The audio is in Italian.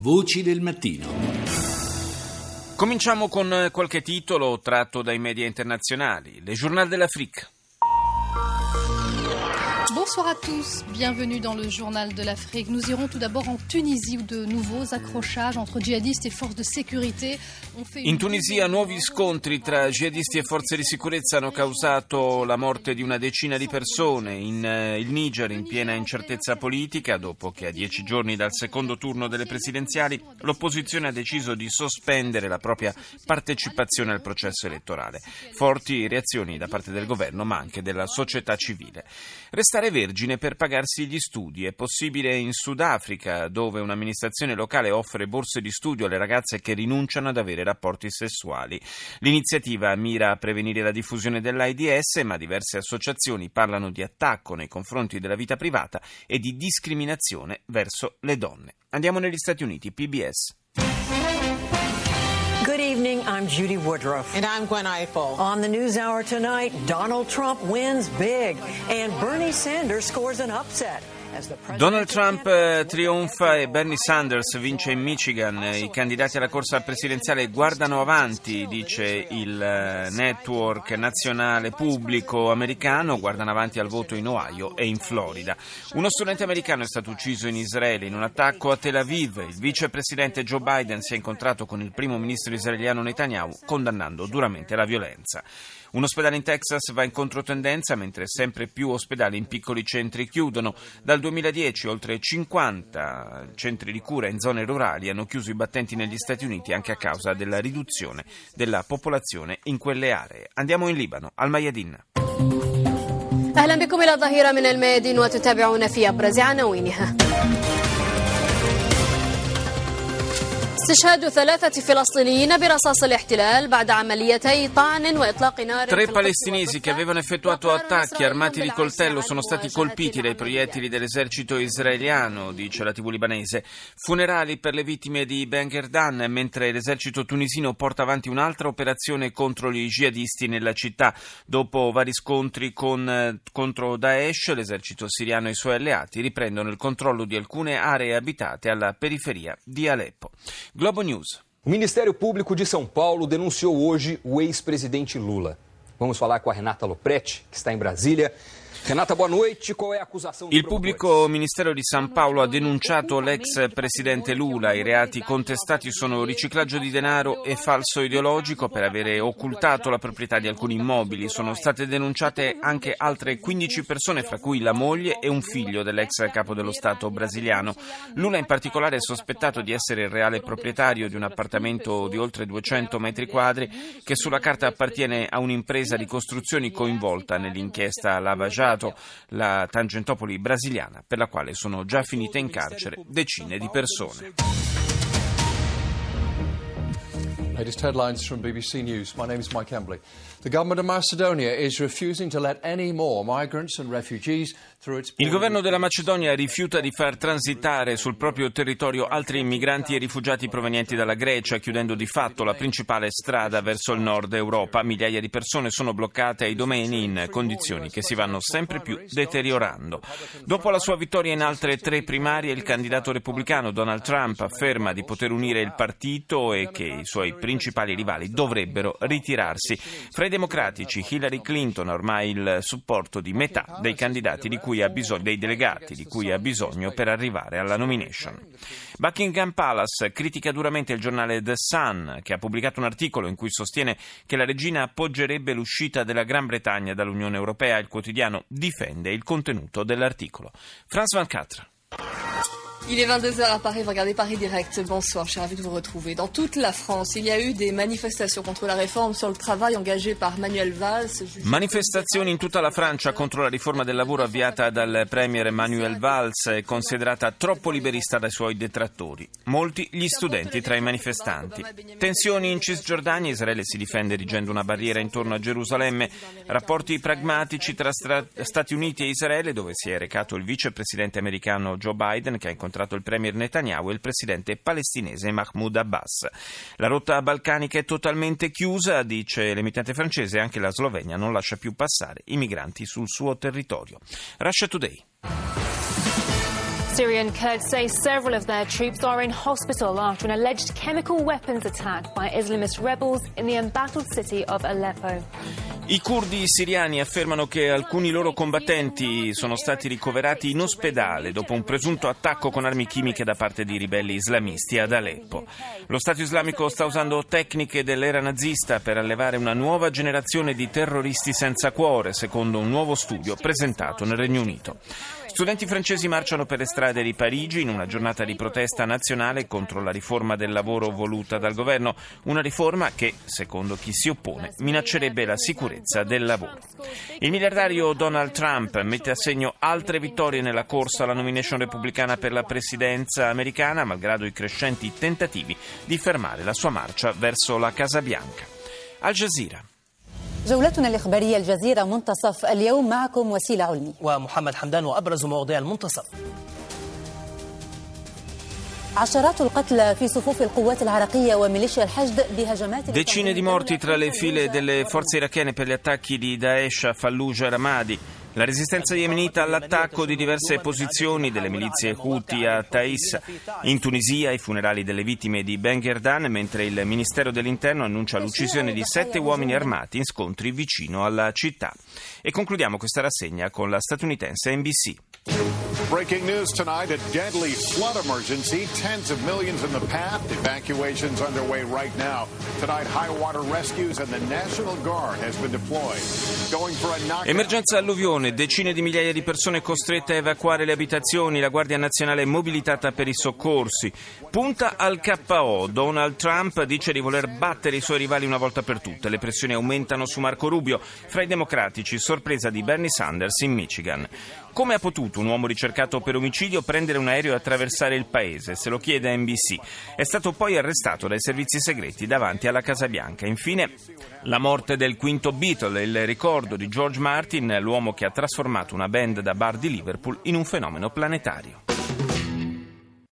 Voci del mattino. Cominciamo con qualche titolo tratto dai media internazionali. Le Journal de l'Afrique. Bonsoir à tous, bienvenue dans le Journal de l'Afrique. Nous irons tout d'abord en Tunisie où de nouveaux accrochages entre djihadistes et forces de sécurité ont fait... In Tunisia nuovi scontri tra jihadisti e forze di sicurezza hanno causato la morte di una decina di persone. Il Niger in piena incertezza politica, dopo che a 10 giorni dal secondo turno delle presidenziali l'opposizione ha deciso di sospendere la propria partecipazione al processo elettorale. Forti reazioni da parte del governo ma anche della società civile. Restare vergine per pagarsi gli studi è possibile in Sudafrica, dove un'amministrazione locale offre borse di studio alle ragazze che rinunciano ad avere rapporti sessuali. L'iniziativa mira a prevenire la diffusione dell'AIDS, ma diverse associazioni parlano di attacco nei confronti della vita privata e di discriminazione verso le donne. Andiamo negli Stati Uniti, PBS. Good evening, I'm Judy Woodruff. And I'm Gwen Ifill. On the NewsHour tonight, Donald Trump wins big and Bernie Sanders scores an upset. Donald Trump trionfa e Bernie Sanders vince in Michigan. I candidati alla corsa presidenziale guardano avanti, dice il network nazionale pubblico americano, guardano avanti al voto in Ohio e in Florida. Uno studente americano è stato ucciso in Israele in un attacco a Tel Aviv. Il vicepresidente Joe Biden si è incontrato con il primo ministro israeliano Netanyahu, condannando duramente la violenza. Un ospedale in Texas va in controtendenza mentre sempre più ospedali in piccoli centri chiudono. Dal 2010 oltre 50 centri di cura in zone rurali hanno chiuso i battenti negli Stati Uniti anche a causa della riduzione della popolazione in quelle aree. Andiamo in Libano, al Mayadin. أهلا بكم إلى ظهيرة من الميادين وتتابعون في أبرز عناوينها. استشهاد 3 فلسطينيين برصاص الاحتلال بعد عمليتي طعن وإطلاق نار. 3 palestinesi che avevano effettuato attacchi armati di coltello sono stati colpiti dai proiettili dell'esercito israeliano, dice la TV libanese. Funerali per le vittime di Ben Gherdan, mentre l'esercito tunisino porta avanti un'altra operazione contro gli jihadisti nella città. Dopo vari scontri contro Daesh, l'esercito siriano e i suoi alleati riprendono il controllo di alcune aree abitate alla periferia di Aleppo. Globo News. O Ministério Público de São Paulo denunciou hoje o ex-presidente Lula. Vamos falar com a Renata Lopretti, que está em Brasília. Renata, boa noite. Qual è l'accusazione? Il pubblico ministero di San Paolo ha denunciato l'ex presidente Lula. I reati contestati sono riciclaggio di denaro e falso ideologico per avere occultato la proprietà di alcuni immobili. Sono state denunciate anche altre 15 persone, fra cui la moglie e un figlio dell'ex capo dello Stato brasiliano. Lula in particolare è sospettato di essere il reale proprietario di un appartamento di oltre 200 metri quadri che sulla carta appartiene a un'impresa di costruzioni coinvolta nell'inchiesta Lava Jato, la Tangentopoli brasiliana, per la quale sono già finite in carcere decine di persone. Latest headlines from BBC News. My name is Mike Embley. The government of Macedonia is refusing to let any more migrants and refugees through its Il governo della Macedonia rifiuta di far transitare sul proprio territorio altri immigranti e rifugiati provenienti dalla Grecia, chiudendo di fatto la principale strada verso il nord Europa. Migliaia di persone sono bloccate ai domeni in condizioni che si vanno sempre più deteriorando. Dopo la sua vittoria in altre 3 primarie, il candidato repubblicano Donald Trump afferma di poter unire il partito e che i suoi principali rivali dovrebbero ritirarsi. Fra i democratici, Hillary Clinton ha ormai il supporto di metà dei candidati dei delegati di cui ha bisogno per arrivare alla nomination. Buckingham Palace critica duramente il giornale The Sun, che ha pubblicato un articolo in cui sostiene che la regina appoggerebbe l'uscita della Gran Bretagna dall'Unione Europea. Il quotidiano difende il contenuto dell'articolo. France 24. Il est 22h à Paris, vous regardez Paris Direct. Bonsoir, je suis ravie de vous retrouver. Dans toute la France, il y a eu des manifestations contre la réforme sur le travail engagée par Manuel Valls. Manifestazioni in tutta la Francia contro la riforma del lavoro avviata dal premier Manuel Valls, è considerata troppo liberista dai suoi detrattori. Molti gli studenti tra i manifestanti. Tensioni in Cisgiordania, Israele si difende erigendo una barriera intorno a Gerusalemme. Rapporti pragmatici tra Stati Uniti e Israele, dove si è recato il vicepresidente americano Joe Biden, che ha incontrato il premier Netanyahu e il presidente palestinese Mahmoud Abbas. La rotta balcanica è totalmente chiusa, dice l'emittente francese, anche la Slovenia non lascia più passare i migranti sul suo territorio. Russia Today. Syrian Kurds say several of their troops are in hospital after an alleged chemical weapons attack by Islamist rebels in the embattled city of Aleppo. I curdi siriani affermano che alcuni loro combattenti sono stati ricoverati in ospedale dopo un presunto attacco con armi chimiche da parte di ribelli islamisti ad Aleppo. Lo Stato islamico sta usando tecniche dell'era nazista per allevare una nuova generazione di terroristi senza cuore, secondo un nuovo studio presentato nel Regno Unito. Studenti francesi marciano per le strade di Parigi in una giornata di protesta nazionale contro la riforma del lavoro voluta dal governo, una riforma che, secondo chi si oppone, minaccerebbe la sicurezza del lavoro. Il miliardario Donald Trump mette a segno altre vittorie nella corsa alla nomination repubblicana per la presidenza americana, malgrado i crescenti tentativi di fermare la sua marcia verso la Casa Bianca. Al Jazeera. جولتنا الإخبارية الجزيرة منتصف اليوم معكم وسيلة علمي ومحمد حمدان وأبرز مواضيع المنتصف. عشرات القتلى في صفوف القوات العراقية وميليشيا الحشد بهجمات. Decine di morti tra le file delle forze irachene per gli attacchi di Daesh a Fallujah e Ramadi. La resistenza yemenita all'attacco di diverse posizioni delle milizie Houthi a Taiz. In Tunisia i funerali delle vittime di Ben Gherdan, mentre il Ministero dell'Interno annuncia l'uccisione di 7 uomini armati in scontri vicino alla città. E concludiamo questa rassegna con la statunitense NBC. Breaking news tonight, a deadly flood emergency. Tens of millions in the path. Evacuations underway right now. Tonight, high water rescues and the National Guard has been deployed. Going for a knockout. Emergenza alluvione, decine di migliaia di persone costrette a evacuare le abitazioni, la Guardia Nazionale è mobilitata per i soccorsi. Punta al KO, Donald Trump dice di voler battere i suoi rivali una volta per tutte. Le pressioni aumentano su Marco Rubio, fra i democratici, sorpresa di Bernie Sanders in Michigan. Come ha potuto un uomo ricercato per omicidio prendere un aereo e attraversare il paese? Se lo chiede NBC. È stato poi arrestato dai servizi segreti davanti alla Casa Bianca. Infine, la morte del quinto Beatle, il ricordo di George Martin, l'uomo che ha trasformato una band da bar di Liverpool in un fenomeno planetario.